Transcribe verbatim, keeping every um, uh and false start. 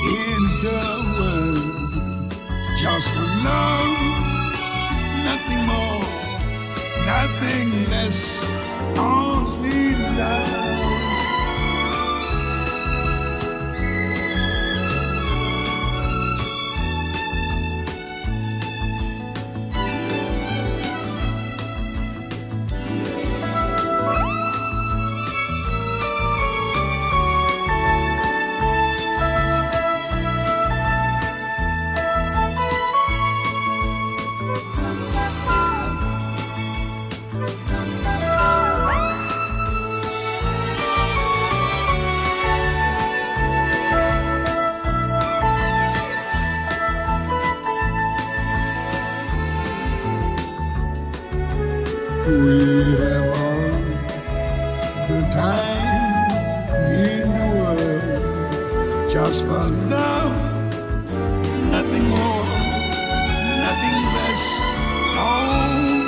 in the world. Just for love, nothing more, nothing less, only love. We have all the time in the world, just for love, nothing more, nothing less. Oh,